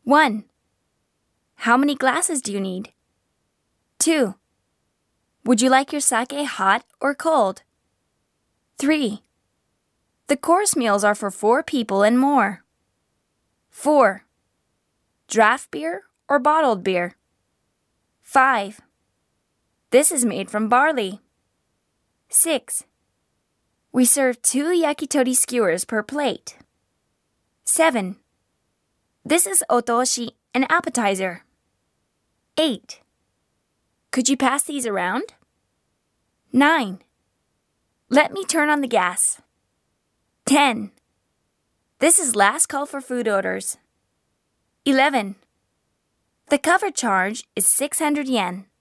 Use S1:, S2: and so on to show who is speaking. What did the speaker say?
S1: 1. How many glasses do you need? 2. Would you like your sake hot or cold? 3. The course meals are for 4 people and more. 4. Draft beer or bottled beer? 5. This is made from barley. 6. We serve 2 yakitori skewers per plate. 7. This is otoshi, an appetizer. 8. Could you pass these around? 9. Let me turn on the gas. 10. This is last call for food orders. 11. The cover charge is 600 yen.